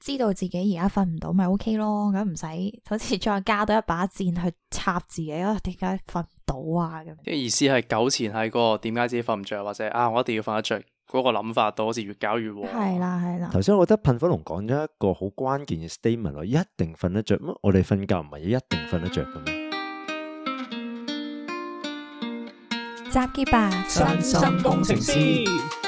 知道自己而家瞓唔到咪 OK 咯，咁唔使好似再加多一把箭去插自己啊，點解瞓唔到啊咁？ 即係意思係糾纏喺嗰個點解自己瞓唔着，或者啊我一定要瞓得着嗰個諗法度，好似越搞越禍。 係啦係啦。 頭先我覺得噴火龍講咗一個好關鍵嘅 statement 咯，一定瞓得着咩？我哋瞓覺唔係一定瞓得着嘅咩？ 集結吧， 身心工程師。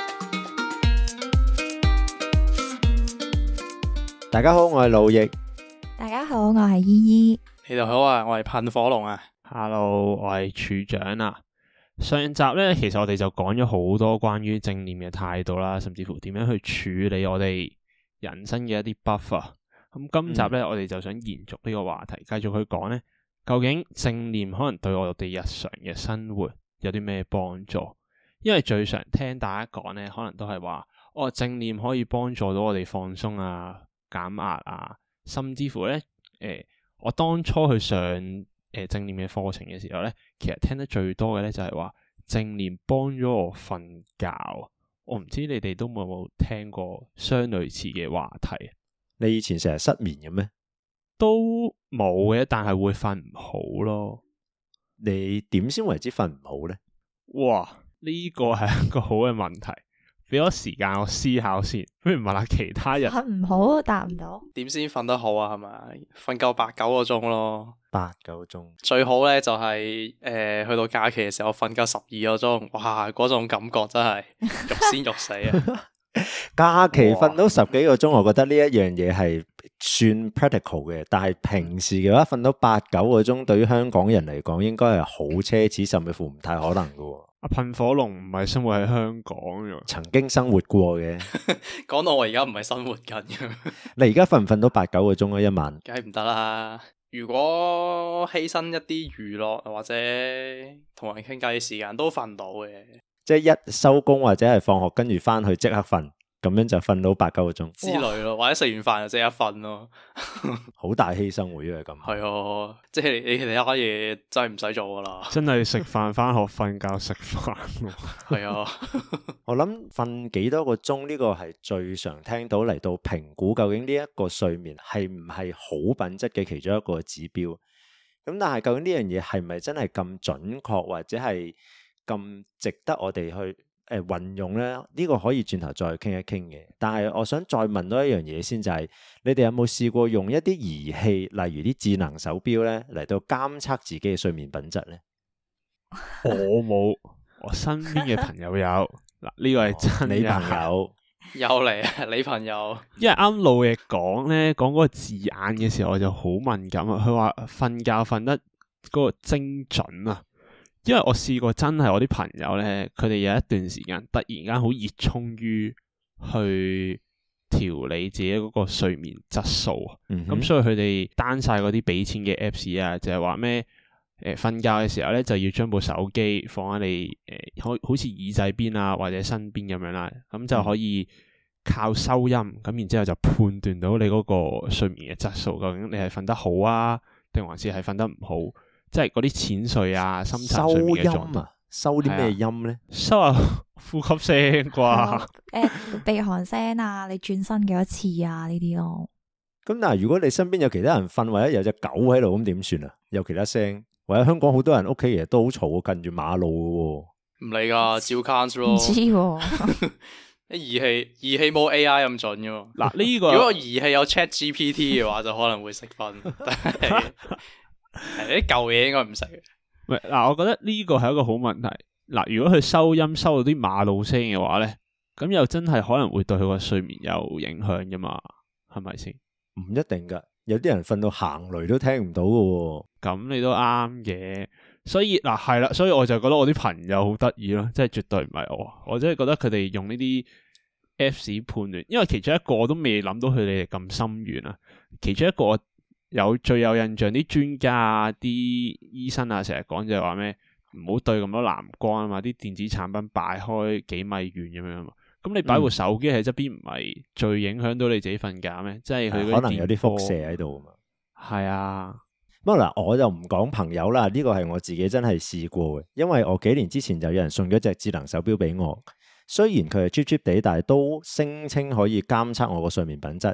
大家好，我係路易。 大家好，我係依依。 你哋好啊，我係噴火龍啊。 Hello，我係處長啊。上集咧，其實我哋就講咗好多關於正念嘅態度啦，甚至乎點樣去處理我哋人生嘅一啲 buffer。咁今集咧，我哋就想延續呢個話題，繼續去講咧，究竟正念可能對我哋日常嘅生活有啲咩幫助？因為最常聽大家講咧，可能都係話，正念可以幫助到我哋放鬆啊、減壓啊，甚至乎咧，我當初去上正念嘅課程嘅時候咧，其實聽得最多嘅咧就係話正念幫咗我瞓覺。我唔知你哋都冇聽過相類似嘅話題。 你以前成日失眠嘅咩？ 都冇嘅，但係會瞓唔好咯。 你點先為之瞓唔好咧？ 哇，呢個係一個好嘅問題。俾咗時間我思考先，不如問下其他人。 瞓唔好答唔到， 點先瞓得好啊？係咪瞓夠8-9個鐘咯 ？8-9個鐘最好咧，就係去到假期嘅時候瞓夠12個鐘，哇！嗰種感覺真係欲仙欲死啊！ 假期瞓到10幾個鐘，我覺得呢一樣嘢係算 practical 嘅，但係平時嘅話瞓到8-9個鐘，對於香港人嚟講，應該係好奢侈，甚至乎唔太可能㗎。 阿噴火龍唔係生活喺香港嘅， 曾經生活過嘅。 講到我而家唔係生活緊嘅。 你而家瞓唔瞓到8-9個鐘啊？一晚？ 梗係唔得啦！如果犧牲一啲娛樂或者同人傾偈嘅時間，都瞓到嘅。 即係一收工或者係放學，跟住翻去即刻瞓，咁樣就瞓到8-9個鐘之類咯，或者食完飯就即刻瞓咯。 好大犧牲會，因為咁。 係啊，即係你其他嘢真係唔使做噶啦。 真係食飯翻學瞓覺食飯。 係啊， 我諗瞓幾多個鐘呢個係最常聽到嚟到評估究竟呢一個睡眠係唔係好品質嘅其中一個指標。咁但係究竟呢樣嘢係咪真係咁準確或者係咁值得我哋去運用咧？呢個可以轉頭再傾一傾嘅。但係我想再問多一樣嘢先，就係你哋有冇試過用一啲儀器，例如啲智能手錶咧，嚟到監測自己嘅睡眠品質咧？ 我冇，我身邊嘅朋友有。嗱，呢個係真。 你朋友有嚟啊？你朋友？ 因為啱路易講咧，講嗰個字眼嘅時候，我就好敏感啊。佢話瞓覺瞓得嗰個精準啊。因為我試過真係我啲朋友咧，佢哋有一段時間突然間好熱衷於去調理自己嗰個睡眠質素啊。咁所以佢哋 down 晒嗰啲俾錢嘅 apps 啊，就係話咩瞓覺嘅時候咧，就要將部手機放喺你好似耳仔邊啊或者身邊咁樣啦，咁就可以靠收音咁，然之後就判斷到你嗰個睡眠嘅質素，究竟你係瞓得好啊，定還是係瞓得唔好？即係嗰啲淺睡啊、深層睡眠嘅狀態。收音啊？收啲咩音咧？收下呼吸聲啩？ 鼻鼾聲啊，你轉身幾多次啊？呢啲咯。 咁但係如果你身邊有其他人瞓，或者有隻狗喺度，咁點算啊？有其他聲，或者香港好多人屋企其實都好嘈，近住馬路嘅。 唔理噶，照 count 咯。 唔知喎。 啲儀器冇 AI 咁準噶。 嗱呢個， 如果個儀器有 ChatGPT 嘅話，就可能會識瞓。但係啲舊嘢應該唔識嘅。 喂，嗱，我覺得呢個係一個好問題。嗱，如果佢收音收到啲馬路聲嘅話咧，咁又真係可能會對佢個睡眠有影響噶嘛？係咪先？ 唔一定噶，有啲人瞓到行雷都聽唔到噶。 咁你都啱嘅，所以嗱係啦，所以我就覺得我啲朋友好得意咯，即係絕對唔係我真係覺得佢哋用呢啲 Apps 判斷，因為其中一個我都未諗到佢哋咁深遠啊。其中一個最有印象啲專家啊、啲醫生啊，成日講就係話咩唔好對咁多藍光啊嘛，啲電子產品擺開幾米遠咁樣啊嘛。咁你擺部手機喺側邊唔係最影響到你自己瞓覺咩？即係佢可能有啲輻射喺度啊嘛。 係啊， 不過嗱，我就唔講朋友啦，呢個係我自己真係試過嘅，因為我幾年之前就有人送咗隻智能手錶俾我，雖然佢係 cheap cheap 地，但係都聲稱可以監測我個睡眠品質。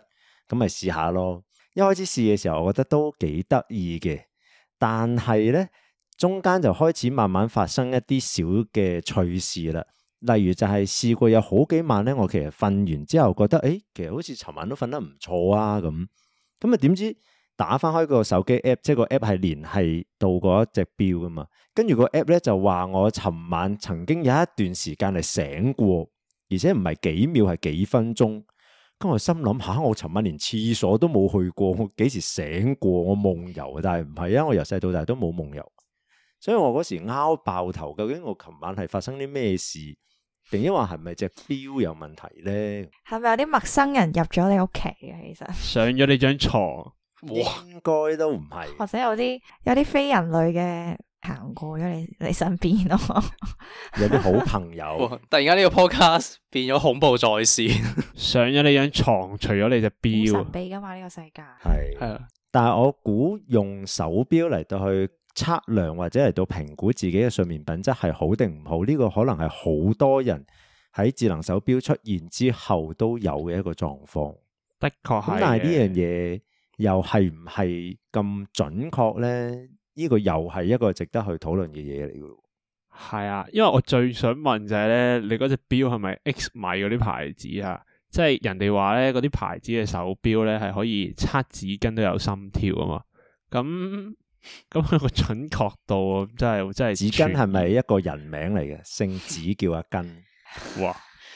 咁咪試下咯。一開始試嘅時候，我覺得都幾得意嘅，但係咧中間就開始慢慢發生一啲小嘅趣事啦。例如就係試過有好幾晚咧，我其實瞓完之後覺得，其實好似尋晚都瞓得唔錯啊咁啊，點知打翻開個手機 app， 即係個 app 係聯繫到嗰一隻錶噶嘛，跟住個 app 咧就話我尋晚曾經有一段時間係醒過，而且唔係幾秒，係幾分鐘。咁我心諗下，我尋晚連廁所都冇去過，我幾時醒過？我夢遊，但係唔係啊，我由細到大都冇夢遊，所以我嗰時拗爆頭，究竟我尋晚係發生啲咩事？定抑或係咪隻錶有問題咧？係咪有啲陌生人入咗你屋企啊？其實上咗你張床， 應該都唔係， 或者有啲非人類嘅行過咗你身邊咯， 有啲好朋友。 突然間呢個 podcast 變咗恐怖在線， 上咗你張床，除咗你隻錶， 神秘噶嘛呢個世界。 係係啊， 但係我估用手錶嚟到去測量或者嚟到評估自己嘅睡眠品質係好定唔好，呢個可能係好多人喺智能手錶出現之後都有嘅一個狀況。 的確係。 咁但係呢樣嘢又係唔係咁準確咧？呢個又係一個值得去討論嘅嘢嚟嘅。 係啊，因為我最想問就係咧，你嗰隻錶係咪 X 米嗰啲牌子啊？即係人哋話咧，嗰啲牌子嘅手錶咧係可以測紙巾都有心跳啊嘛。咁個準確度真係紙巾係咪一個人名嚟嘅？姓紙叫阿根。 哇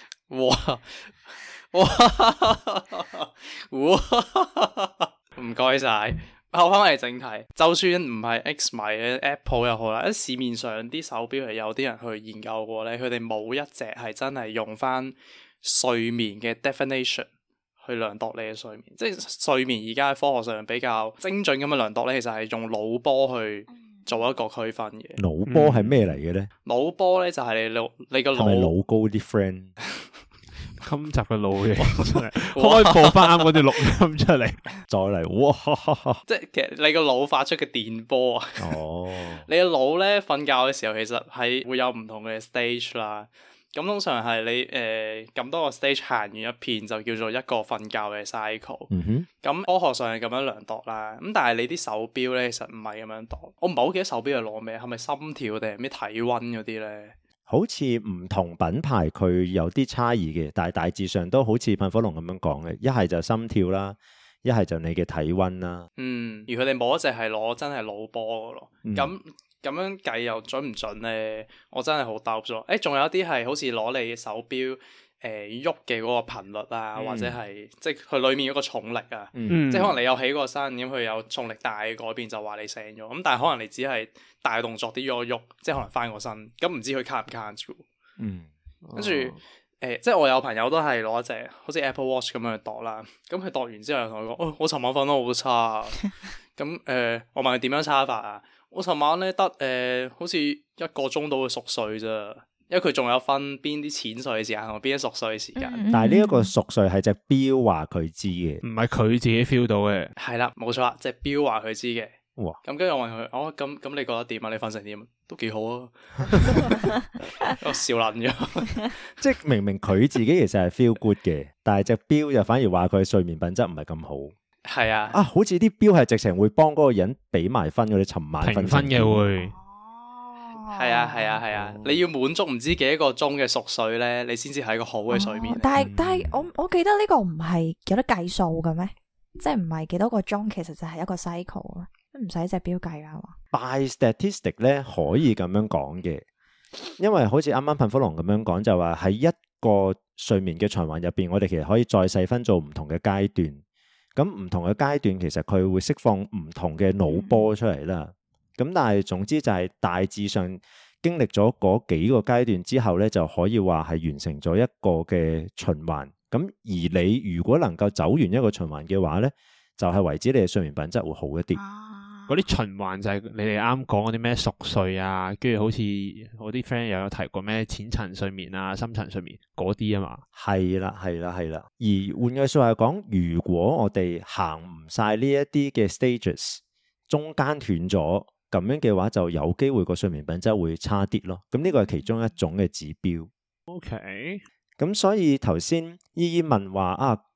唔該晒。後翻嚟正題，就算唔係 X 米嘅 Apple 又好啦，喺市面上啲手錶係有啲人去研究過咧，佢哋冇一隻係真係用翻睡眠嘅 definition 去量度你嘅睡眠。即係睡眠而家喺科學上比較精準咁嘅量度咧，其實係用腦波去做一個區分嘅。 腦波係咩嚟嘅咧？ 腦波咧就係你個腦係咪老高啲 friend？ 今集嘅腦嘢真係開播翻啱嗰段錄音出嚟， 再嚟哇！ 即係其實你個腦發出嘅電波啊。 哦， 你個腦咧瞓覺嘅時候，其實係會有唔同嘅 stage 啦。咁通常係你咁多個 stage 行完一片，就叫做一個瞓覺嘅 cycle。咁科學上係咁樣量度啦。咁但係你啲手錶咧，其實唔係咁樣度。我唔係好記得手錶係攞咩，係咪心跳定係咩體溫嗰啲咧？ 好似唔同品牌佢有啲差異嘅，但係大致上都好似噴火龍咁樣講嘅，一係就心跳啦，一係就你嘅體溫啦。而佢哋冇一隻係攞真係腦波嘅咯。咁樣計又準唔準咧？我真係好擔咗。仲有啲係好似攞你手錶喐嘅嗰個頻率啊，或者係即係佢裡面嗰個重力啊，即係可能你有起過身，咁佢有重力大嘅改變就話你醒咗。咁但係可能你只係大動作啲喐，即係可能翻個身，咁唔知佢 count 唔 count 住。跟住即係我有朋友都係攞一隻好似 Apple Watch 咁樣去度啦。咁佢度完之後又同我講：我尋晚瞓得好差。咁我問佢點樣差法啊？我尋晚咧得好似1個鐘到會熟睡啫。因為佢仲有分邊啲淺睡嘅時間同邊啲熟睡嘅時間， 但係呢一個熟睡係隻錶話佢知嘅， 唔係佢自己 feel 到嘅。 係啦，冇錯啦，隻錶話佢知嘅。 哇！ 咁跟住我問佢，咁你覺得點啊？你瞓成點？都幾好啊！我笑爛咗， 即係明明佢自己其實係 feel good 嘅，但係隻錶就反而話佢睡眠品質唔係咁好。 係啊， 好似啲錶係直情會幫嗰個人俾埋分嗰啲，尋晚評分嘅會。 係啊，你要滿足唔知幾多個鐘嘅熟睡咧，你先至係一個好嘅睡眠。 但係我記得呢個唔係有得計數嘅咩？即係唔係幾多個鐘，其實就係一個 cycle 啊，唔使隻錶計啦。 By statistic 咧可以咁樣講嘅，因為好似啱啱噴火龍咁樣講，就話喺一個睡眠嘅循環入邊，我哋其實可以再細分做唔同嘅階段。咁唔同嘅階段，其實佢會釋放唔同嘅腦波出嚟啦。咁但係總之就係大致上經歷咗嗰幾個階段之後咧，就可以話係完成咗一個嘅循環。咁而你如果能夠走完一個循環嘅話咧，就係為止你嘅睡眠品質會好一啲。 嗰啲循環就係你哋啱講嗰啲咩熟睡啊，跟住好似我啲 friend 又有提過咩淺層睡眠啊、深層睡眠嗰啲啊嘛。係啦。而換句説話講，如果我哋行唔晒呢一啲嘅 stages， 中間斷咗。咁樣嘅話就有機會個睡眠品質會差啲咯，咁呢個係其中一種嘅指標。OK，咁所以頭先姨姨問話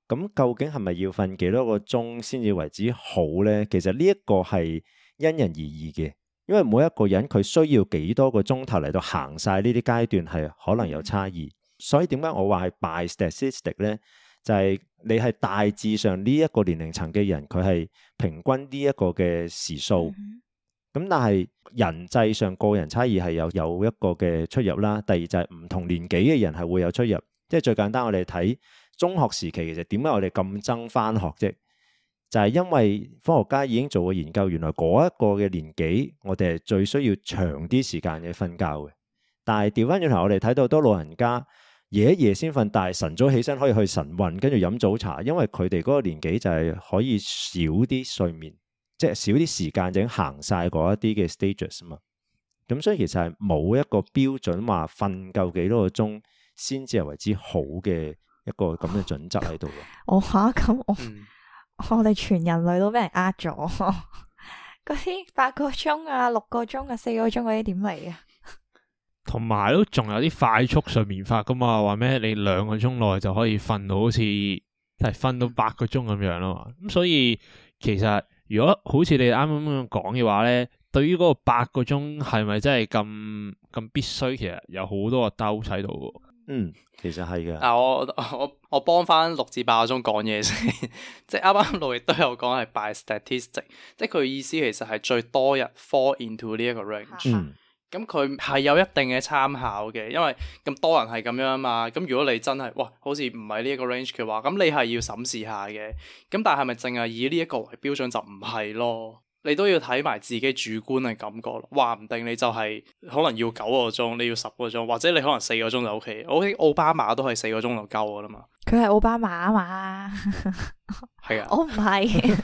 咁究竟係咪要瞓幾多個鐘先至為之好呢？其實呢一個係因人而異嘅，因為每一個人佢需要幾多個鐘頭嚟到行晒呢啲階段係可能有差異。所以點解我話係 by statistic 呢？就係你係大致上呢一個年齡層嘅人，佢係平均呢一個嘅時數。咁但係人際上個人差異係有一個嘅出入啦。第二就係唔同年紀嘅人係會有出入。即係最簡單，我哋睇中學時期，其實點解我哋咁憎返學啫？就係因為科學家已經做過研究，原來嗰一個嘅年紀，我哋係最需要長啲時間嘅瞓覺嘅。但係調翻轉頭，我哋睇到好多老人家夜一夜先瞓，但係晨早起身可以去晨運，跟住飲早茶，因為佢哋嗰個年紀就係可以少啲睡眠，即係少啲時間就已經行晒嗰一啲嘅 stages 啊嘛。咁所以其實係冇一個標準話瞓夠幾多個鐘先至係為之好嘅一個咁嘅準則喺度。 我吓咁我哋全人類都俾人呃咗，嗰啲8個鐘啊、6個鐘啊、4個鐘嗰啲點嚟啊？ 同埋都仲有啲快速睡眠法噶嘛，話咩你2個鐘內就可以瞓到好似係瞓到8個鐘咁樣咯嘛。咁所以其實如果好似你啱啱咁講嘅話咧，對於嗰個8個鐘係咪真係咁必須？其實有好多個兜喺度。 其實係嘅。 我幫翻6至8個鐘講嘢先，即係啱啱路亦都有講係 by statistic， 即係佢意思其實係最多人 fall into 呢一個 range。咁佢係有一定嘅參考嘅，因為咁多人係咁樣啊嘛。咁如果你真係哇，好似唔係呢一個 range 嘅話，咁你係要審視下嘅。咁但係咪淨係以呢一個為標準就唔係咯？你都要睇埋自己主觀嘅感覺咯。話唔定你就係可能要9個鐘，你要10個鐘，或者你可能4個鐘就 OK。我覺得奧巴馬都係4個鐘就夠噶啦嘛。 佢係奧巴馬啊嘛。 係啊， 我唔係。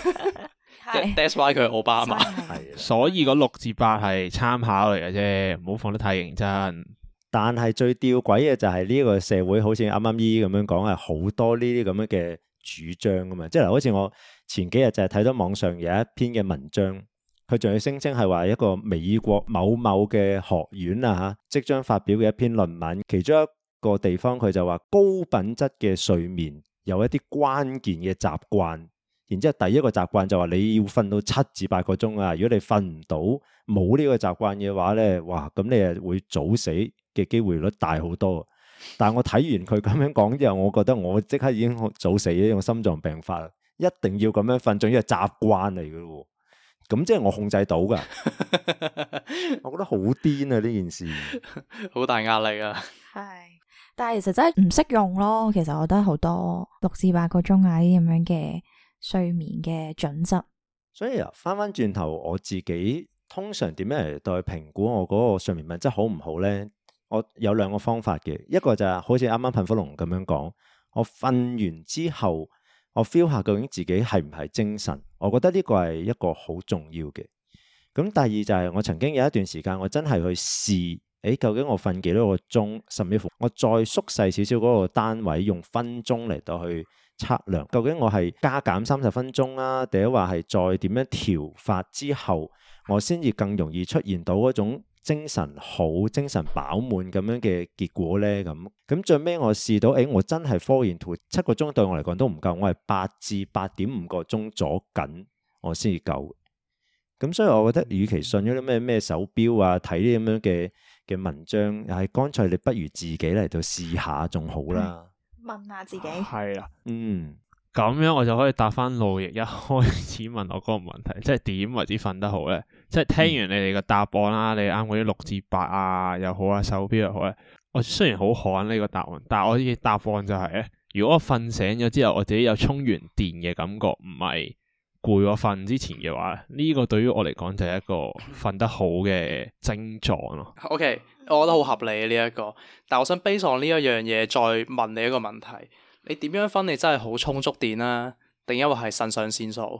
That's why 佢係奧巴馬。 所以個6至8係參考嚟嘅啫，唔好放得太認真。 但係最吊詭嘅就係呢個社會，好似啱啱姨咁樣講，係好多呢啲咁樣嘅主張噶嘛。即係好似我前幾日就係睇到網上有一篇嘅文章，佢仲要聲稱係話一個美國某某嘅學院啊即將發表嘅一篇論文，其中一個地方佢就話高品質嘅睡眠有一啲關鍵嘅習慣。然之後第一個習慣就話你要瞓到7至8個鐘啊！如果你瞓唔到冇呢個習慣嘅話咧，哇咁你係會早死嘅機會率大好多。但係我睇完佢咁樣講之後，我覺得我即刻已經早死咗，用心臟病發啦！一定要咁樣瞓，仲要係習慣嚟嘅喎。咁即係我控制到噶，我覺得好癲啊！呢件事好大壓力啊。 係，但係其實真係唔識用咯。其實我覺得好多6至8個鐘啊，呢啲咁樣嘅睡眠嘅準則。 所以翻翻轉頭，我自己通常點樣嚟對評估我嗰個睡眠品質好唔好呢？我有2個方法嘅，一個就係好似啱啱噴火龍咁樣講，我瞓完之後，我 feel 下究竟自己係唔係精神。我覺得呢個係一個好重要嘅。咁第二就係我曾經有一段時間，我真係去試，究竟我瞓幾多個鐘，甚至乎我再縮細少少嗰個單位，用分鐘嚟到去測量，究竟我係加減30分鐘啊，定係話係再點樣調法之後，我先至更容易出現到嗰種精神好、精神飽滿咁樣嘅結果呢？咁最尾我試到，我真係 fall into 7個鐘對我嚟講都唔夠，我係8至8.5個鐘左緊，我先至夠。咁所以我覺得，與其信咗啲咩手錶啊，睇啲咁樣嘅文章，係乾脆你不如自己嚟到試下仲好啦。 問下自己。 係啦， 咁樣我就可以答翻路易一開始問我嗰個問題，即係點為之瞓得好咧？即係聽完你哋嘅答案啦，你啱嗰啲6至8啊又好啊，手錶又好咧。我雖然好罕呢個答案，但係我嘅答案就係咧，如果我瞓醒咗之後，我自己有充完電嘅感覺，唔係攰我瞓之前嘅話，呢個對於我嚟講就係一個瞓得好嘅症狀咯。 OK，我覺得好合理呢一個，但我想 base on呢一樣嘢再問你一個問題：你點樣分你真係好充足電啊？定因為係腎上腺素？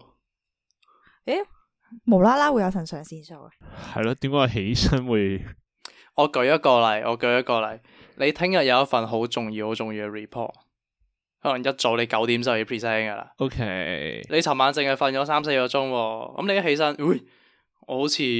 無啦啦會有腎上腺素嘅？ 係咯，點解起身會？ 我舉一個例，你聽日有一份好重要嘅 report。可能一早你9點就要 present 噶啦。 OK， 你尋晚淨係瞓咗3-4個鐘，咁你一起身，我好似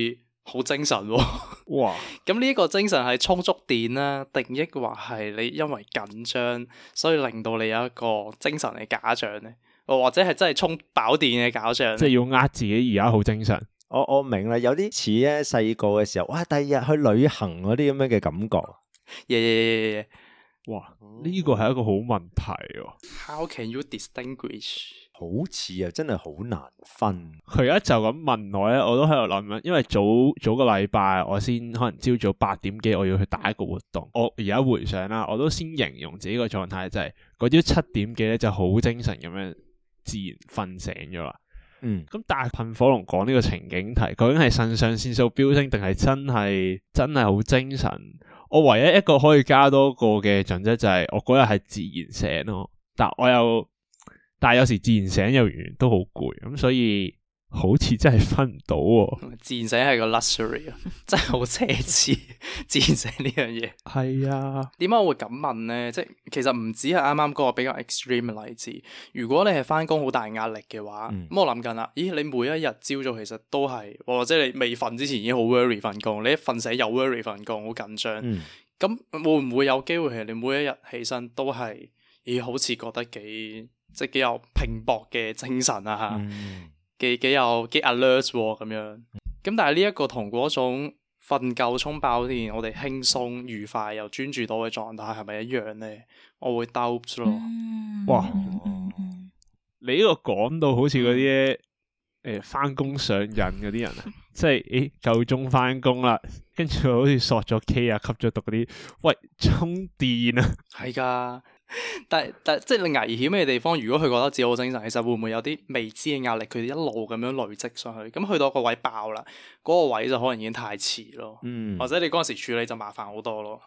好精神喎。 哇！ 咁呢個精神係充足電啦，定抑或係你因為緊張，所以令到你有一個精神嘅假象呢？或者係真係充飽電嘅假象？ 即係要呃自己而家好精神。 我明啦，有啲似咧細個嘅時候，哇！第二日去旅行嗰啲咁樣嘅感覺。 耶！ 哇！呢個係一個好問題喎。 How can you distinguish？ 好似啊，真係好難分。 佢而家就咁問我咧，我都喺度諗緊，因為早個禮拜我先可能朝早8點幾我要去打一個活動。我而家回想啦，我都先形容自己個狀態就係嗰朝7點幾咧就好精神咁樣自然瞓醒咗啦。咁但係噴火龍講呢個情景題，究竟係腎上腺素飆升定係真係好精神？我唯一一個可以加多個嘅準則就係我嗰日係自然醒咯，但係有時自然醒又完全都好攰，咁所以好似真係分唔到喎。 自然醒係個 luxury 啊，真係好奢侈。自然醒呢樣嘢係啊， 點解我會咁問呢？即係其實唔止係啱啱嗰個比較 extreme 嘅例子。如果你係翻工好大壓力嘅話，咁我諗緊啦，咦？你每一日朝早其實都係，或者你未瞓之前已經好 worry 份工，你一瞓醒又 worry 份工，好緊張。咁會唔會有機會係你每一日起身都係，好似覺得幾有拼搏嘅精神啊，幾 alert 咁樣。咁但係呢一個同嗰種瞓夠充飽電，我哋輕鬆愉快又專注到嘅狀態係咪一樣呢？我會 doubt 咯。 哇！你呢個講到好似嗰啲翻工上癮嗰啲人啊，即係夠鐘翻工啦，跟住好似索咗 K 啊，吸咗毒嗰啲，喂，充電啊， 係噶。但即係你危險嘅地方，如果佢覺得自己好精神，其實會唔會有啲未知嘅壓力？佢哋一路咁樣累積上去，咁去到個位爆啦，嗰個位就可能已經太遲咯。或者你嗰陣時處理就麻煩好多咯。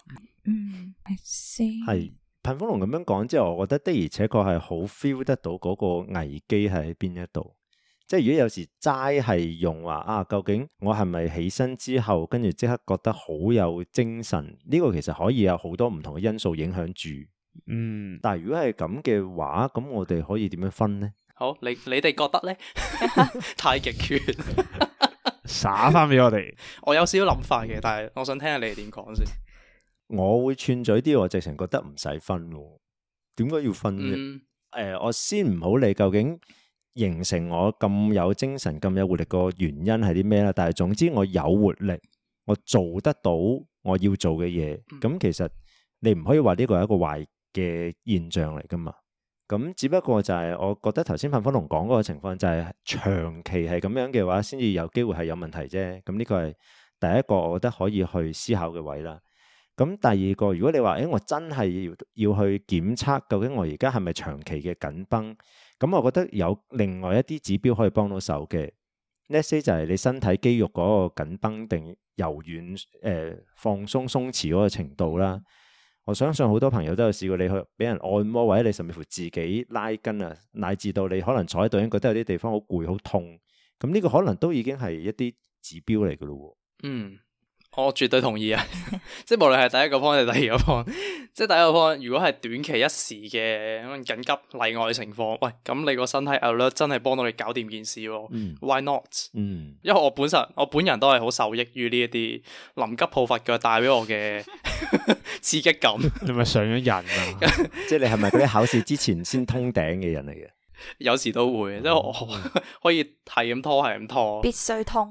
係噴火龍咁樣講之後，我覺得的而且確係好 feel 得到嗰個危機係喺邊一度。即係如果有時齋係用話啊，究竟我係咪起身之後跟住即刻覺得好有精神？呢個其實可以有好多唔同嘅因素影響住。但係如果係咁嘅話，咁我哋可以點樣分呢？ 好，你哋覺得呢？太極拳灑翻俾我哋。 我有少少諗法嘅，但係我想聽下你哋點講先。 我會串嘴啲，我直情覺得唔使分喎。點解要分啫？我先唔好理究竟形成我咁有精神、咁有活力個原因係啲咩啦。但係總之我有活力，我做得到我要做嘅嘢。咁其實你唔可以話呢個係一個壞嘅現象嚟噶嘛。咁只不過就係我覺得頭先噴火龍講嗰個情況就係長期係咁樣嘅話，先至有機會係有問題啫。咁呢個係第一個我覺得可以去思考嘅位啦。咁第二個，如果你話我真係要去檢測究竟我而家係咪長期嘅緊繃，咁我覺得有另外一啲指標可以幫到手嘅。Let's say 就係你身體肌肉嗰個緊繃定柔軟放鬆鬆弛嗰個程度啦。我相信好多朋友都有試過你去俾人按摩，或者你甚至乎自己拉筋啊，乃至到你可能坐喺度已經覺得有啲地方好攰好痛，咁呢個可能都已經係一啲指標嚟噶咯。 我絕對同意啊！即係無論係第一個 point 定第二個 point，即係第一個 point，如果係短期一時嘅可能緊急例外情況，喂，咁你個身體 alert 真係幫到你搞掂件事喎。Why not？因為我本人都係好受益於呢一啲臨急抱佛腳帶俾我嘅刺激感。 你咪上咗癮啊？ 即係你係咪嗰啲考試之前先通頂嘅人嚟嘅？ 有時都會，即係我可以係咁拖，係咁拖， 必須通。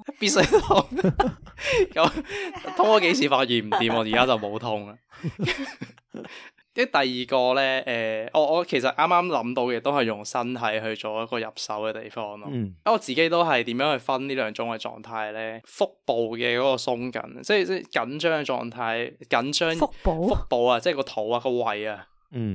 咁通咗幾次發現唔掂，我而家就冇通啦。跟第二個咧，我其實啱啱諗到嘅都係用身體去做一個入手嘅地方咯。我自己都係點樣去分呢兩種嘅狀態咧？腹部嘅嗰個鬆緊，即係緊張嘅狀態，緊張腹部啊，即係個肚啊，個胃啊。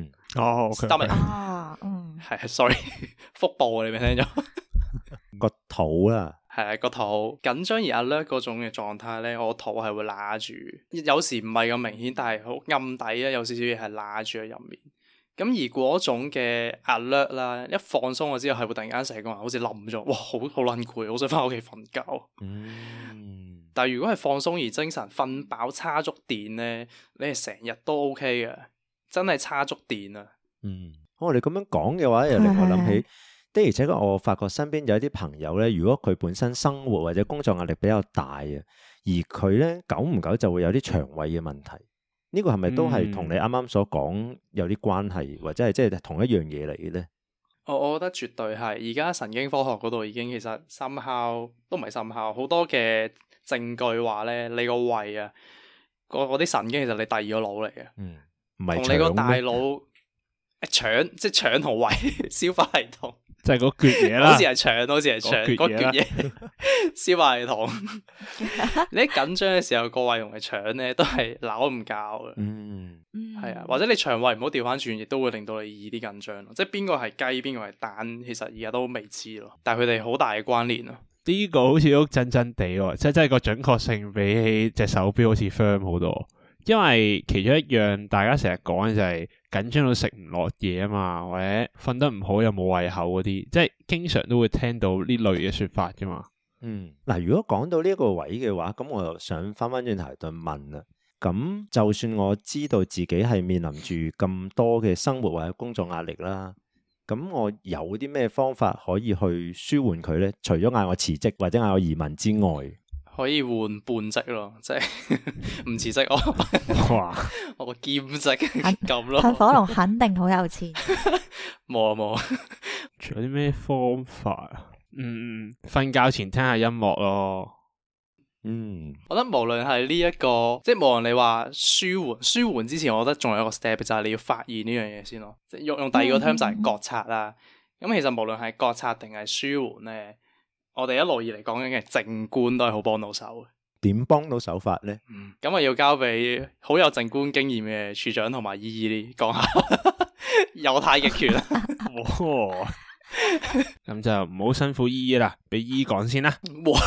係，sorry， 腹部你未聽咗？ 個肚啦， 係個肚緊張而 alert 嗰種嘅狀態咧，我肚係會揦住，有時唔係咁明顯，但係好暗底啊，有少少嘢係揦住喺入面。咁而嗰種嘅 alert 啦，一放鬆咗之後，係會突然間成個人好似冧咗，哇，好撚攰，好想翻屋企瞓覺。但係如果係放鬆而精神，瞓飽叉足電咧，你係成日都 OK 嘅，真係叉足電啊！ 我哋咁樣講嘅話，又令我諗起， 的而且確我發覺身邊有一啲朋友咧，如果佢本身生活或者工作壓力比較大啊，而佢咧久唔久就會有啲腸胃嘅問題，呢個係咪都係同你啱啱所講有啲關係，或者係即係同一樣嘢嚟嘅咧？ 我覺得絕對係，而家神經科學嗰度已經其實somehow都唔係somehow，好多嘅證據話咧，你個胃啊，嗰啲神經其實你第二個腦嚟嘅， 唔係同你個大腦腸，即係腸同胃消化系統。 就係嗰橛嘢啦， 好似係腸，好似係腸，嗰橛嘢消化系統。你一緊張嘅時候，個胃同埋腸咧都係扭唔教嘅。係啊，或者你腸胃唔好調翻轉，亦都會令到你易啲緊張咯。即係邊個係雞，邊個係蛋，其實而家都未知咯。但係佢哋好大嘅關聯咯。 呢個好似都真真地喎，即係真係個準確性比起隻手錶好似 firm 好多。因為其中一樣大家成日講嘅就係緊張到食唔落嘢啊嘛，或者瞓得唔好又冇胃口嗰啲，即係經常都會聽到呢類嘅說法噶嘛。 嗱，如果講到呢一個位嘅話，咁我又想翻轉頭就問啦。咁就算我知道自己係面臨住咁多嘅生活或者工作壓力啦，咁我有啲咩方法可以去舒緩佢呢？除咗嗌我辭職或者嗌我移民之外， 可以換半職咯，即係唔辭職我，哇我個兼職咁咯。 噴火龍肯定好有錢。 冇啊冇。 仲有啲咩方法啊？瞓覺前聽下音樂咯。 我覺得無論係呢一個，即係無論你話舒緩之前，我覺得仲有一個 step 就係你要發現呢樣嘢先咯。即係用第二個 term 就係覺察啦。咁其實無論係覺察定係舒緩咧，我哋一路以嚟講緊嘅靜觀都係好幫到手嘅。 點幫到手法咧？ 咁啊要交俾好有靜觀經驗嘅處長同埋姨姨講下，有太極拳。 咁就唔好辛苦姨姨啦，俾姨講先啦。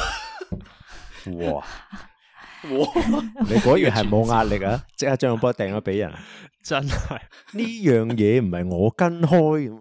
哇！你果然係冇壓力啊！即刻將個波掟咗俾人， 真係呢樣嘢唔係我跟開。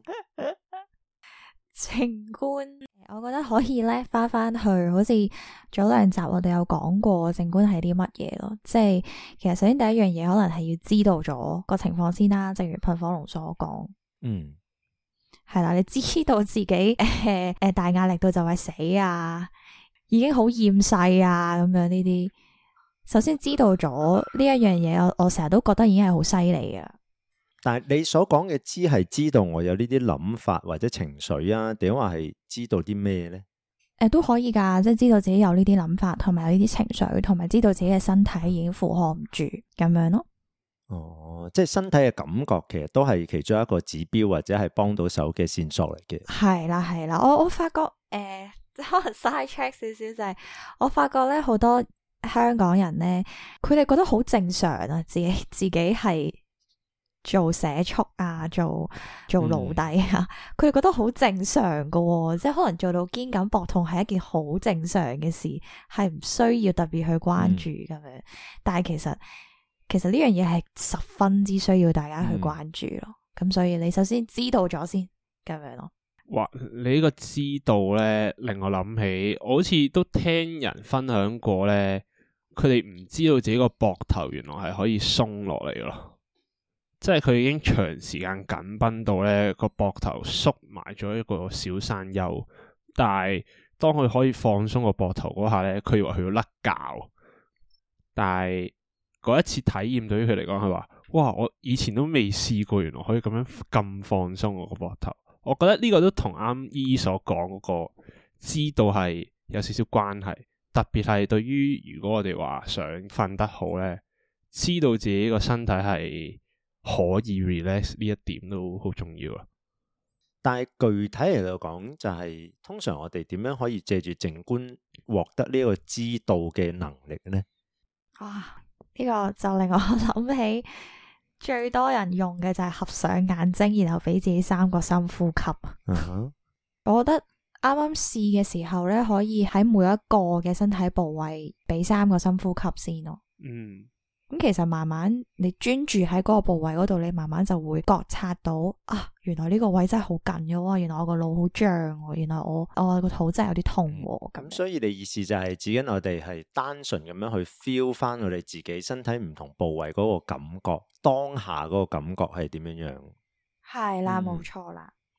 靜觀，我覺得可以咧，翻去好似早2集我哋有講過靜觀係啲乜嘢咯。即係其實首先第一樣嘢可能係要知道咗個情況先啦，正如噴火龍所講。係啦，你知道自己大壓力到就係死啊，已經好厭世啊咁樣呢啲。首先知道咗呢一樣嘢，我成日都覺得已經係好犀利㗎。 但係你所講嘅知係知道我有呢啲諗法或者情緒啊，定話係知道啲咩呢？ 都可以噶，即係知道自己有呢啲諗法，同埋有呢啲情緒，同埋知道自己嘅身體已經負荷唔住咁樣咯。哦， 即係身體嘅感覺，其實都係其中一個指標或者係幫到手嘅線索嚟嘅。 係啦係啦，我發覺可能 side check 少少就係，我發覺咧好多香港人咧，佢哋覺得好正常啊，自己係做社畜啊，做奴隸啊，佢哋覺得好正常噶喎，即係可能做到肩胛膊痛係一件好正常嘅事，係唔需要特別去關注咁樣。但係其實呢樣嘢係十分之需要大家去關注咯。咁所以你首先知道咗先咁樣咯。 哇！你呢個知道咧，令我諗起，我好似都聽人分享過咧，佢哋唔知道自己個膊頭原來係可以鬆落嚟咯。即係佢已經長時間緊繃到咧個膊頭縮埋咗一個小山丘，但係當佢可以放鬆個膊頭嗰下咧，佢以為佢要甩臼。但係嗰一次體驗對於佢嚟講，佢話：哇！我以前都未試過，原來可以咁放鬆我個膊頭。我覺得呢個都同啱姨所講嗰個知道係有少少關係，特別係對於如果我哋話想瞓得好咧，知道自己個身體係可以 relax 呢一點都好重要啊！ 但係具體嚟講，就係通常我哋點樣可以借住靜觀獲得呢個知道嘅能力呢？ 呢個就令我諗起最多人用嘅就係合上眼睛，然後俾自己3個深呼吸。我覺得啱啱試嘅時候咧，可以喺每一個嘅身體部位俾3個深呼吸先咯。咁其實慢慢你專注喺嗰個部位嗰度，你慢慢就會覺察到原來呢個位真係好緊嘅，原來我個腦好脹，原來我個肚真係有啲痛。咁所以你意思就係指緊我哋係單純咁樣去 feel 翻我哋自己身體唔同部位嗰個感覺，當下嗰個感覺係點樣樣？ 係啦，冇錯啦。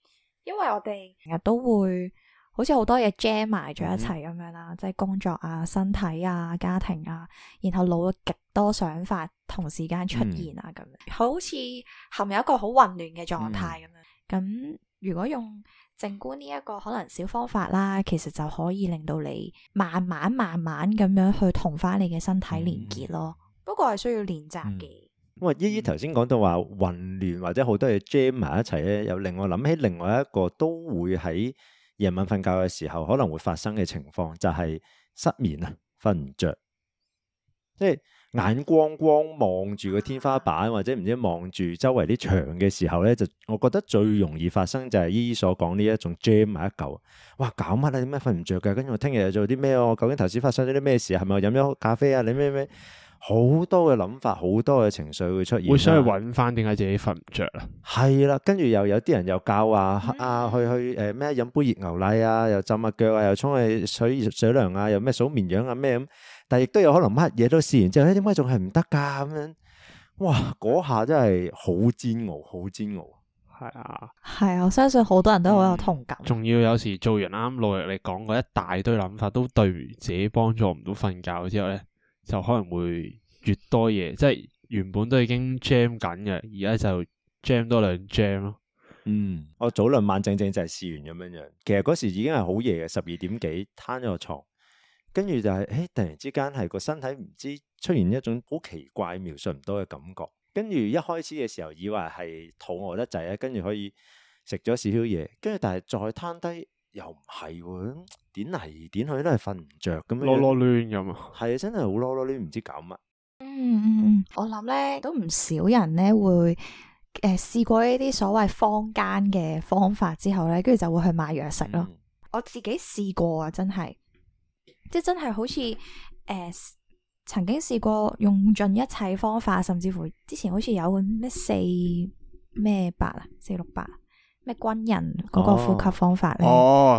因為我哋成日都會好似好多嘢 jam 埋咗一齊咁樣啦，即係工作啊、身體啊、家庭啊，然後腦極多想法同時間出現啊，咁樣好似陷入一個好混亂嘅狀態咁樣。咁如果用靜觀呢一個可能小方法啦，其實就可以令到你慢慢咁樣去同翻你嘅身體連結咯。不過係需要練習嘅。 因為依依頭先講到話混亂或者好多嘢 jam 埋一齊咧，又令我諗起另外一個都會喺夜晚瞓覺嘅時候可能會發生嘅情況，就係失眠啊，瞓唔着，即係眼光望住個天花板或者唔知望住周圍啲牆嘅時候咧，就我覺得最容易發生就係依依所講呢一種 jam 埋一嚿。哇，搞乜啊？點解瞓唔着嘅？跟住我聽日又做啲咩？我究竟頭先發生咗啲咩事？係咪我飲咗咖啡啊？你咩？好多嘅諗法，好多嘅情緒會出現， 會想去揾翻點解自己瞓唔着啊？ 係啦，跟住又有啲人又教去咩飲杯熱牛奶啊，又浸下腳啊，又沖去水涼啊，又咩數綿羊啊咩咁，但係亦都有可能乜嘢都試完之後，點解仲係唔得噶咁樣？哇，嗰下真係好煎熬，好煎熬。 係啊， 係啊，我相信好多人都好有同感。 仲要有時做完啱努力你講嗰一大堆諗法，都對自己幫助唔到瞓覺之後咧，就可能會越多嘢，即係原本都已經 jam 緊嘅，而家就 jam 多兩 jam 咯。 我早兩晚正就係試完咁樣，其實嗰時已經係好夜嘅，12點幾攤咗個床，跟住就係突然之間係個身體唔知出現一種好奇怪描述唔到嘅感覺，跟住一開始嘅時候以為係肚餓得滯啊，跟住可以食咗少少嘢，跟住但係再攤低又唔係喎，點嚟點去都係瞓唔着咁樣， 囉囉攣咁啊， 係真係好囉囉攣，唔知搞乜。 我諗咧都唔少人咧會試過呢啲所謂坊間嘅方法之後咧，跟住就會去買藥食咯。我自己試過啊，真係即係真係好似曾經試過用盡一切方法，甚至乎之前好似有個咩468啊468咩軍人嗰個呼吸方法咧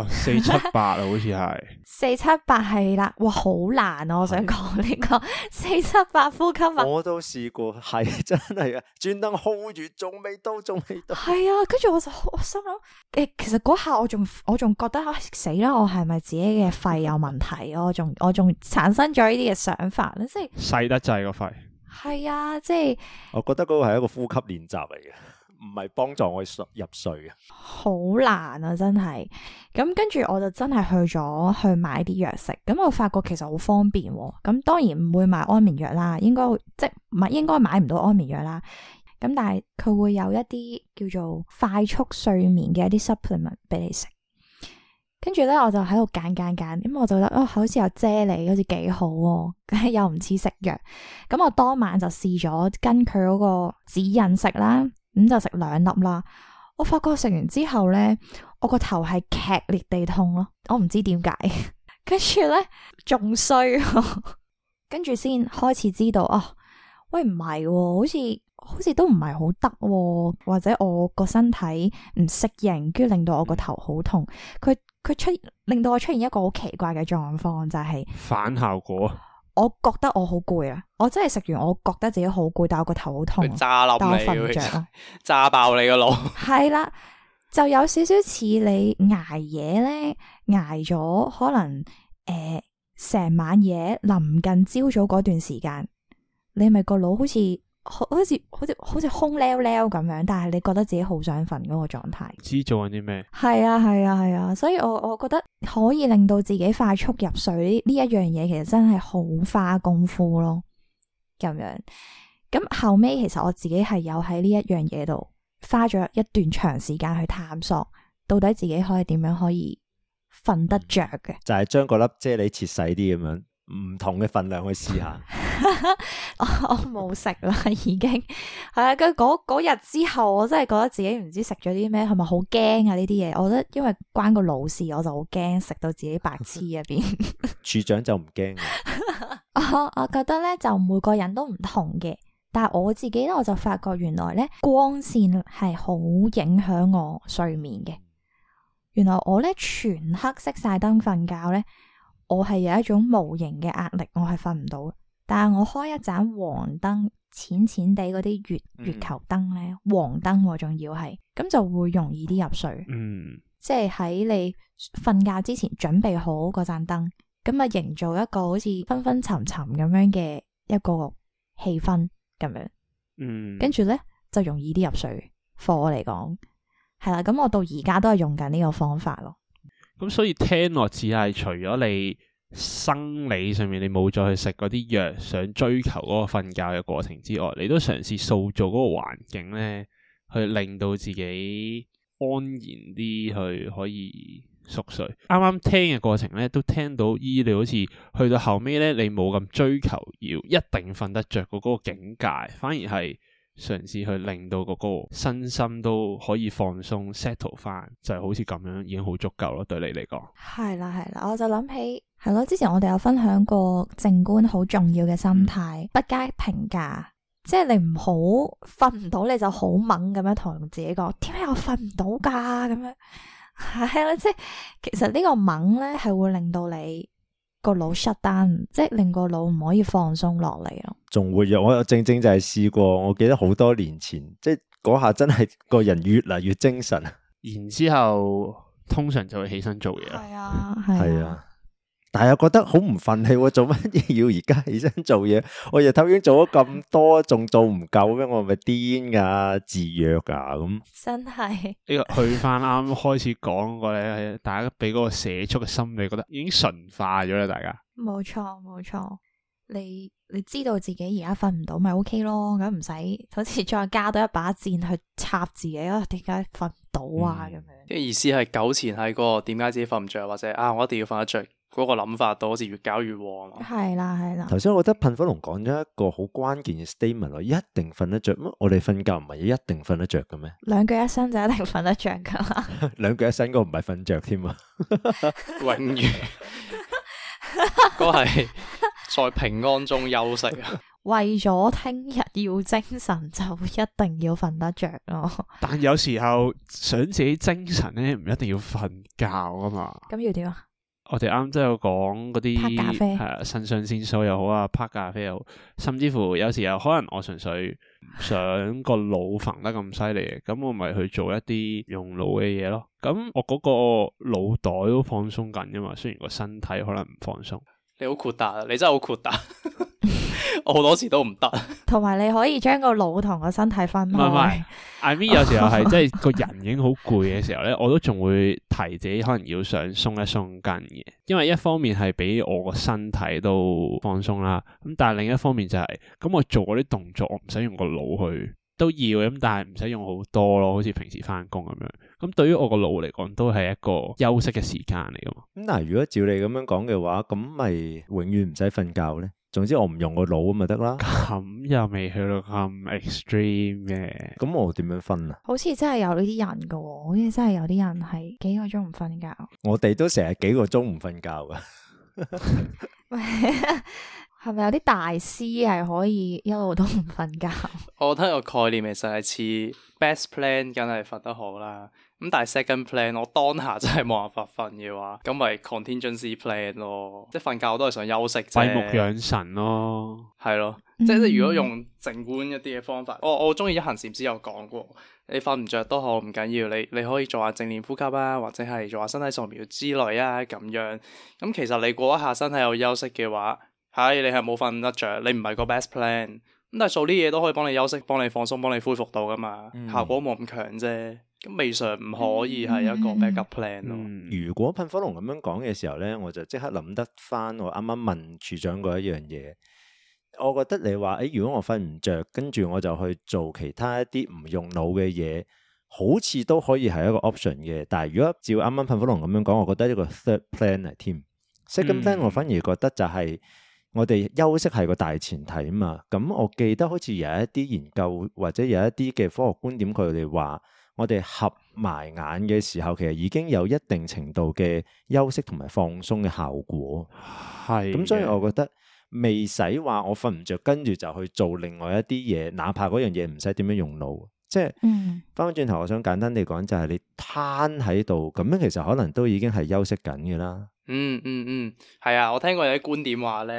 ，478啊，好似係 478係啦，哇，好難啊！我想講呢個478呼吸法， 我都試過，係真係啊，專登 hold 住，仲未到， 係啊，跟住我心諗，其實嗰下我仲覺得死啦，我係咪自己嘅肺有問題啊？我仲產生咗呢啲嘅想法咧，即係細得滯個肺， 係啊，即係我覺得嗰個係一個呼吸練習嚟嘅。唔係幫助我入睡嘅， 好難啊！真係咁，跟住我就真係去買啲藥食。咁我發覺其實好方便喎。咁當然唔會買安眠藥啦，應該買唔到安眠藥啦。咁但係佢會有一啲叫做快速睡眠嘅一啲 supplement 俾你食。跟住咧，我就喺度揀，咁我就覺得好似有啫喱，好似幾好喎，又唔似食藥。咁我當晚就試咗跟佢嗰個指引食啦。咁就食2粒啦，我發覺食完之後咧，我個頭係劇烈地痛咯，我唔知點解，跟住咧仲衰，跟住先開始知道喂唔係，好似都唔係好得，或者我個身體唔適應，跟住令到我個頭好痛，佢令到我出現一個好奇怪嘅狀況，就係反效果。 我覺得我好攰啊！我真係食完，我覺得自己好攰，但我個頭好痛， 炸冧但我瞓唔着啊！ 炸爆你個腦， 係啦，就有少少似你捱夜咧，捱咗可能成晚夜，臨近朝早嗰段時間，你咪個腦好似空溜溜咁樣，但係你覺得自己好想瞓嗰個狀態， 知做緊啲咩？ 係啊，所以我覺得可以令到自己快速入睡呢一樣嘢，其實真係好花功夫咯。咁樣，咁後尾其實我自己係有喺呢一樣嘢度花咗一段長時間去探索，到底自己可以點樣可以瞓得着嘅， 就係將嗰粒啫喱切細啲咁樣。唔同嘅份量去試下， 我冇食啦，已經係啊。跟嗰日之後，我真係覺得自己唔知食咗啲咩，係咪好驚啊？呢啲嘢，我覺得因為關個腦事，我就好驚食到自己白痴入邊。 處長就唔驚。 我覺得咧，就每個人都唔同嘅，但係我自己咧，我就發覺原來咧，光線係好影響我睡眠嘅。原來我咧全黑熄晒燈瞓覺咧，我係有一種無形嘅壓力，我係瞓唔到。但係我開一盞黃燈，淺淺地嗰啲月球燈咧，黃燈仲要係， 咁就會容易啲入睡。即係喺你瞓覺之前準備好嗰盞燈，咁啊營造一個好似昏昏沉沉咁樣嘅一個氣氛咁樣。跟住咧就容易啲入睡。課我嚟講係啦，咁我到而家都係用緊呢個方法咯。 咁所以聽落只係除咗你生理上面你冇再去食嗰啲藥，想追求嗰個瞓覺嘅過程之外，你都嘗試塑造嗰個環境咧，去令到自己安然啲去可以熟睡。啱啱聽嘅過程咧，都聽到你好似去到後尾咧，你冇咁追求要一定瞓得着嗰個境界，反而係嘗試去令到嗰個身心都可以放鬆 settle 翻，就係好似咁樣已經好足夠咯。對你嚟講， 係啦，我就諗起係咯，之前我哋有分享過靜觀好重要嘅心態，不加評價，即係你唔好瞓唔到你就好猛咁樣同自己講，點解我瞓唔到噶咁樣？係啦，即係其實呢個猛咧係會令到你個腦 shut down，即係令個腦唔可以放鬆落嚟咯。仲會有，我正正就係試過，我記得好多年前，即係嗰下真係個人越嚟越精神， 然之後通常就會起身做嘢。 係啊，但係又覺得好唔忿氣，做乜嘢要而家起身做嘢？我日頭已經做咗咁多，仲做唔夠咩？我係咪癲噶？自虐噶咁？真係呢個去翻啱開始講過咧，大家俾嗰個社畜嘅心理，覺得已經馴化咗啦，大家。 冇錯，你知道自己而家瞓唔到，咪 OK 咯，咁唔使好似再加多一把箭去插自己啊？點解瞓唔到啊？咁樣嘅意思係糾纏喺嗰個點解自己瞓唔着，或者我一定要瞓得着嗰個諗法度，好似越搞越旺。 係啦。 頭先我覺得噴火龍講咗一個好關鍵嘅 statement， 一定瞓得着。我哋瞓覺唔係一定瞓得着嘅咩？ 兩腳一伸就一定瞓得着噶啦。 兩腳一伸嗰個唔係瞓着添啊， 永遠嗰係在平安中休息啊。 為咗聽日要精神，就一定要瞓得着咯。 但有時候想自己精神咧，唔一定要瞓覺啊嘛。 咁要點啊？ 我哋啱都有講嗰啲拍咖啡， 係腎上腺素又好啊，拍咖啡又好，甚至乎有時候可能我純粹唔想個腦瞓得咁犀利嘅，咁我咪去做一啲用腦嘅嘢咯。咁我嗰個腦袋都放鬆緊噶嘛，雖然個身體可能唔放鬆。 你好豁達啊！你真係好豁達。我好多時都唔得， 同埋你可以將個腦同個身體分開。 唔係，I mean 有時候係即係個人已經好攰嘅時候咧，我都仲會提自己可能要想鬆一鬆筋嘅，因為一方面係俾我個身體都放鬆啦，咁但係另一方面就係咁我做嗰啲動作，我唔使用個腦去都要咁，但係唔使用好多咯，好似平時翻工咁樣。咁對於我個腦嚟講，都係一個休息嘅時間嚟噶嘛。 咁但係如果照你咁樣講嘅話，咁咪永遠唔使瞓覺咧？總之我唔用個腦咁咪得啦。 咁又未去到咁 extreme 嘅。咁我點樣瞓啊？ 好似真係有呢啲人噶，好似真係有啲人係幾個鐘唔瞓覺。我哋都成日幾個鐘唔瞓覺噶。 係咪有啲大師係可以一路都唔瞓覺？ 我覺得個概念其實係似 best plan，梗係瞓得好啦。咁但係 second plan，我當下真係冇辦法瞓嘅話，咁咪 contingency plan 咯。即係瞓覺我都係想休息啫， 閉目養神咯， 係咯。即係如果用靜觀一啲嘅方法，我中意一行禪師有講過，你瞓唔着都好唔緊要，你可以做下正念呼吸啊，或者係做下身體掃描之類啊咁樣。咁其實你過一下身體有休息嘅話，係你係冇瞓得着，你唔係個 best plan。咁但係做啲嘢都可以幫你休息、幫你放鬆、幫你恢復到噶嘛，效果冇咁強啫。咁未嘗唔可以係一個 backup plan 咯。 如果噴火龍咁樣講嘅時候咧，我就即刻諗得翻我啱啱問處長過一樣嘢。我覺得你話如果我瞓唔着，跟住我就去做其他一啲唔用腦嘅嘢，好似都可以係一個 option 嘅。但係如果照啱啱噴火龍咁樣講，我覺得呢個 third plan 嚟添。second plan 我反而覺得就係我哋休息係個大前提啊嘛。咁我記得好似有一啲研究或者有一啲嘅科學觀點，佢哋話我哋合埋眼嘅時候，其實已經有一定程度嘅休息同埋放鬆嘅效果。 係咁，所以我覺得未使話我瞓唔着，跟住就去做另外一啲嘢，哪怕嗰樣嘢唔使點樣用腦。即係翻返轉頭，我想簡單地講，就係你攤喺度咁樣，其實可能都已經係休息緊嘅啦。 係啊，我聽過有啲觀點話咧，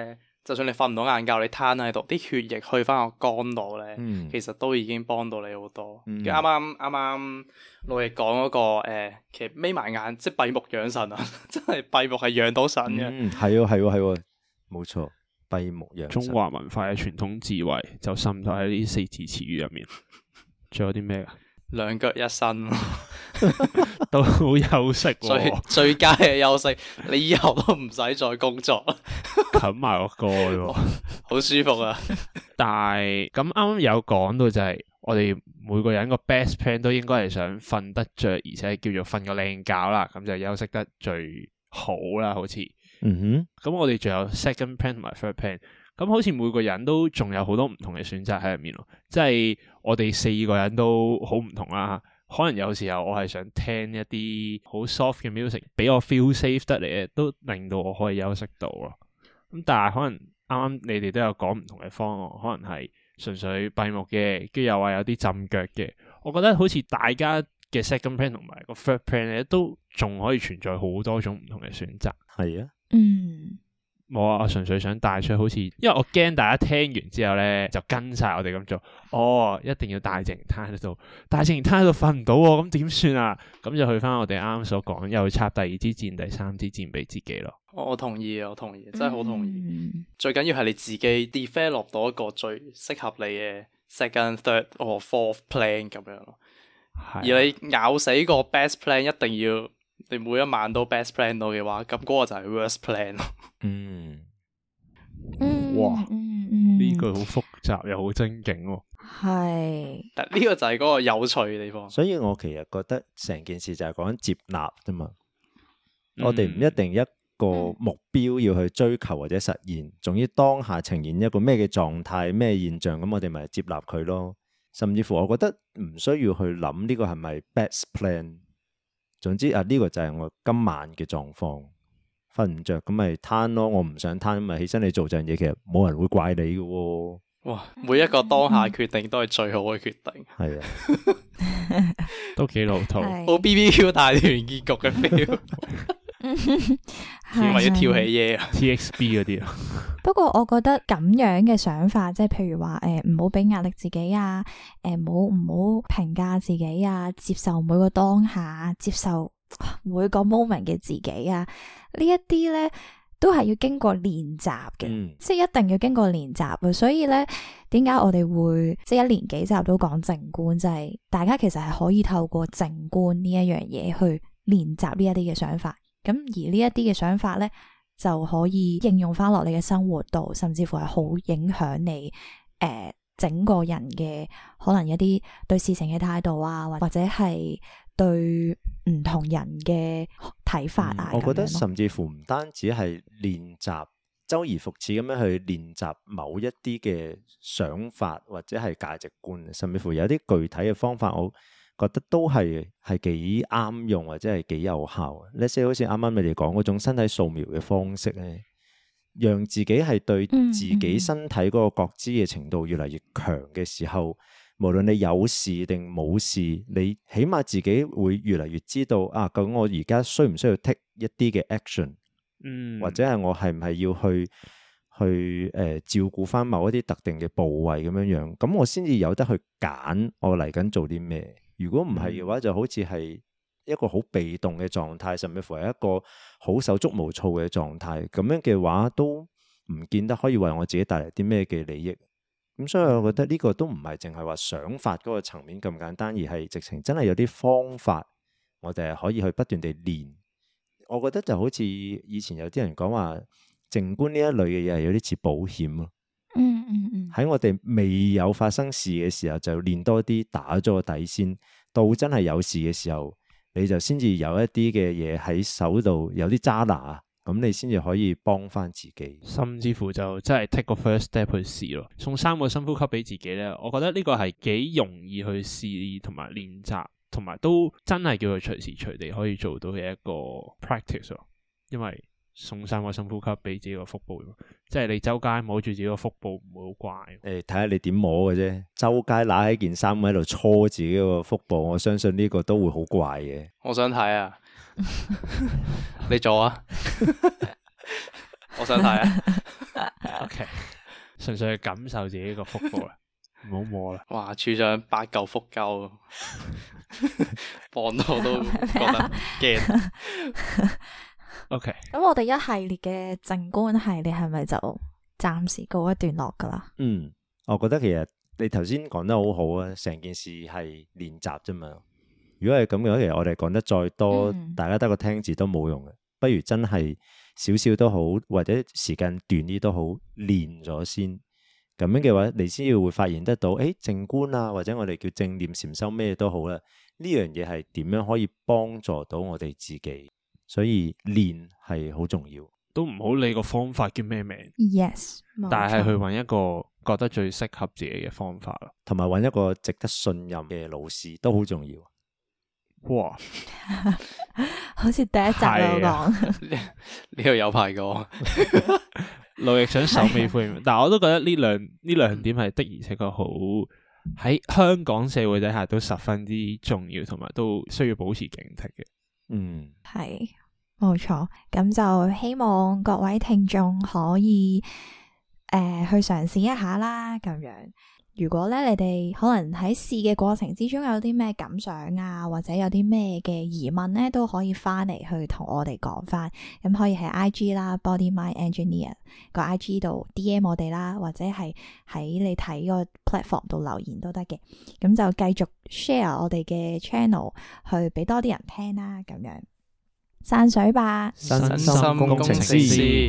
就算你瞓唔到晏覺，你攤喺度，啲血液去翻個肝度咧，其實都已經幫到你好多。啱啱老易講嗰個其實眯埋眼即係閉目養神啊，真係閉目係養到神嘅。 係喎，冇錯，閉目養神。 中華文化嘅傳統智慧就滲透喺呢四字詞語入面。仲有啲咩噶？ 兩腳一伸都好休息喎， 最佳嘅休息，你以後都唔使再工作， 冚埋個歌喎， 好舒服啊！ 但係咁啱啱有講到就係我哋每個人個 best plan 都應該係想瞓得着，而且叫做瞓個靚覺啦，咁就休息得最好啦，好似。咁我哋仲有 second plan 同埋 third plan。咁好似每個人都仲有好多唔同嘅選擇喺入面咯，即係我哋4個人都好唔同啦。可能有時候我係想聽一啲好 soft 嘅 music， 俾我 feel safe 得嚟嘅，都令到我可以休息到咯。咁但係可能啱啱你哋都有講唔同嘅方案，可能係純粹閉目嘅，跟住又話有啲浸腳嘅。我覺得好似大家嘅 second plan 同埋個 third plan 咧，都仲可以存在好多種唔同嘅選擇。 係啊， 冇啊！我純粹想帶出好似，因為我驚大家聽完之後咧就跟晒我哋咁做。哦，一定要大靜攤喺度，大靜攤喺度瞓唔到喎，咁點算啊？咁就去翻我哋啱啱所講，又插第二支箭、第三支箭俾自己咯。 我同意，真係好同意。最緊要係你自己 develop 到一個最適合你嘅 second、third 或 fourth plan 咁樣咯。而你咬死個 best plan，一定要你每一晚都 best plan 到嘅話，咁嗰個就係 worst plan 咯。 哇！呢句好複雜又好精警喎。 係， 但呢個就係嗰個有趣嘅地方。 所以我其實覺得成件事就係講緊接納啫嘛。我哋唔一定一個目標要去追求或者實現，總之當下呈現一個咩嘅狀態、咩現象，咁我哋咪接納佢咯。甚至乎我覺得唔需要去諗呢個係咪 best plan。總之呢個就係我今晚嘅狀況。瞓唔着咁咪攤咯，我唔想攤咪起身你做陣嘢，其實冇人會怪你嘅喎。 哇！每一個當下決定都係最好嘅決定。係啊， 都幾老土， 好 BBQ 大團結局嘅 feel。為咗跳起嘢 TXB 嗰啲啊。 不過我覺得咁樣嘅想法，即係譬如話唔好俾壓力自己啊，唔好評價自己啊，接受每個當下，接受每個 moment 嘅自己啊，呢一啲咧都係要經過練習嘅，即係一定要經過練習嘅。所以咧，點解我哋會即係一連幾集都講靜觀，就係大家其實係可以透過靜觀呢一樣嘢去練習呢一啲嘅想法。咁而呢一啲嘅想法咧，就可以應用翻落你嘅生活度，甚至乎係好影響你整個人嘅可能一啲對事情嘅態度啊，或者係對唔同人嘅睇法啊。 我覺得甚至乎唔單止係練習，周而復始咁樣去練習某一啲嘅想法或者係價值觀，甚至乎有啲具體嘅方法，我覺得都係幾啱用或者係幾有效。呢些好似啱啱你哋講嗰種身體掃描嘅方式咧，讓自己係對自己身體嗰個覺知嘅程度越嚟越強嘅時候，無論你有事定冇事，你起碼自己會越嚟越知道啊，究竟我而家需唔需要 take 一啲嘅 action，或者係我係唔係要去照顧翻某一啲特定嘅部位咁樣樣，咁我先至有得去揀我嚟緊做啲咩。如果唔係嘅話，就好似係一個好被動嘅狀態，甚至乎係一個好手足無措嘅狀態。咁樣嘅話，都唔見得可以為我自己帶嚟啲咩嘅利益。咁所以我覺得呢個都唔係淨係話想法嗰個層面咁簡單，而係直情真係有啲方法，我哋係可以去不斷地練。我覺得就好似以前有啲人講話靜觀呢一類嘅嘢係有啲似保險咯。喺我哋未有發生事嘅時候就練多啲，打咗個底先，到真係有事嘅時候你就先至有一啲嘅嘢喺手度，有啲揸拿，咁你先至可以幫翻自己， 甚至乎就真係 take 個 first step 去試咯。送3個深呼吸俾自己咧，我覺得呢個係幾容易去試同埋練習，同埋都真係叫佢隨時隨地可以做到嘅一個 practice 咯。因為送3個深呼吸俾自己個腹部，即係你周街摸住自己個腹部唔會好怪。 睇下你點摸嘅啫，周街拿起件衫喺度搓自己個腹部，我相信呢個都會好怪嘅。 我想睇啊，你做啊，我想睇啊。 OK， 純粹係感受自己個腹部啦，唔好摸啦。 哇，處長8嚿腹膠，望到都覺得驚。 OK， 咁我哋一系列嘅靜觀系列係咪就暫時告一段落噶啦？ 我覺得其實你頭先講得好好啊，成件事係練習啫嘛。如果係咁嘅話，其實我哋講得再多，大家得個聽字都冇用嘅，不如真係少少都好，或者時間短啲都好，練咗先。咁樣嘅話，你先要會發現得到，靜觀啊，或者我哋叫正念禪修咩都好啦。呢樣嘢係點樣可以幫助到我哋自己？所以練係好重要， 都唔好理個方法叫咩名。 Yes， 但係去揾一個覺得最適合自己嘅方法咯， 同埋揾一個值得信任嘅老師都好重要。 哇， 好似第一集我講， 呢個有排過。 路易想首尾呼應，但係我都覺得呢兩點係的而且確好喺香港社會底下都十分之重要，同埋都需要保持警惕嘅。 係冇錯，咁就希望各位聽眾可以去嘗試一下啦。咁樣，如果咧你哋可能喺試嘅過程之中有啲咩感想啊，或者有啲咩嘅疑問咧，都可以翻嚟去同我哋講翻。咁可以喺 IG 啦 ，Body Mind Engineer 個 IG 度 DM 我哋啦，或者係喺你睇個 platform 度留言都得嘅。咁就繼續 share 我哋嘅 channel 去俾多啲人聽啦。咁樣散水吧， 身心工程師。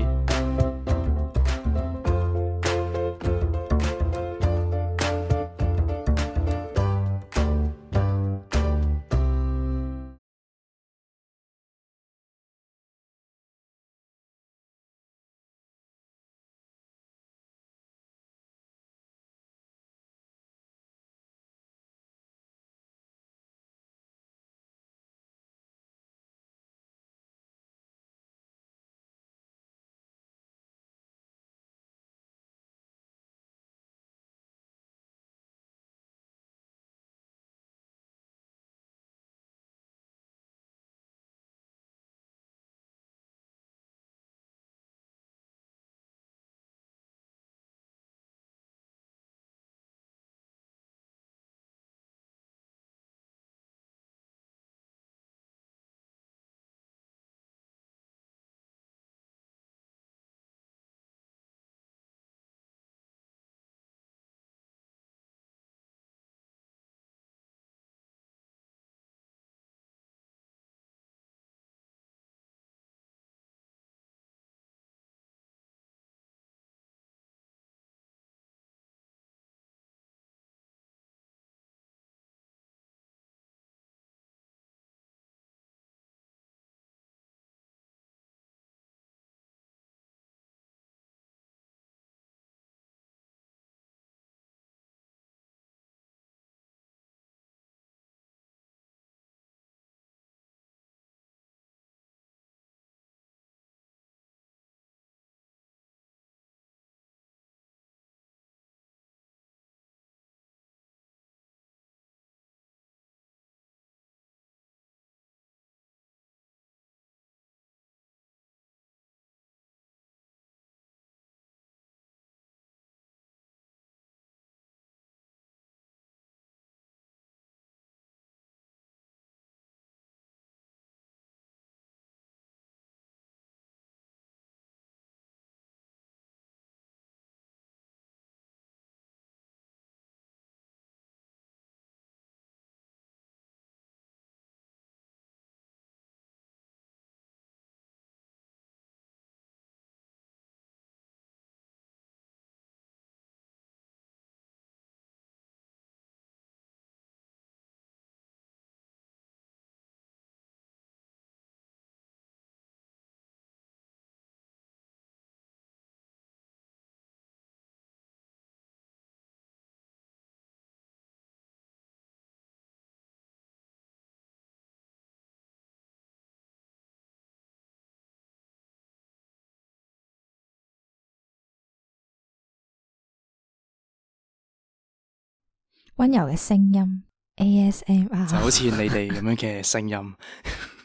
溫柔嘅聲音 ASMR 就好似你哋咁樣嘅聲音。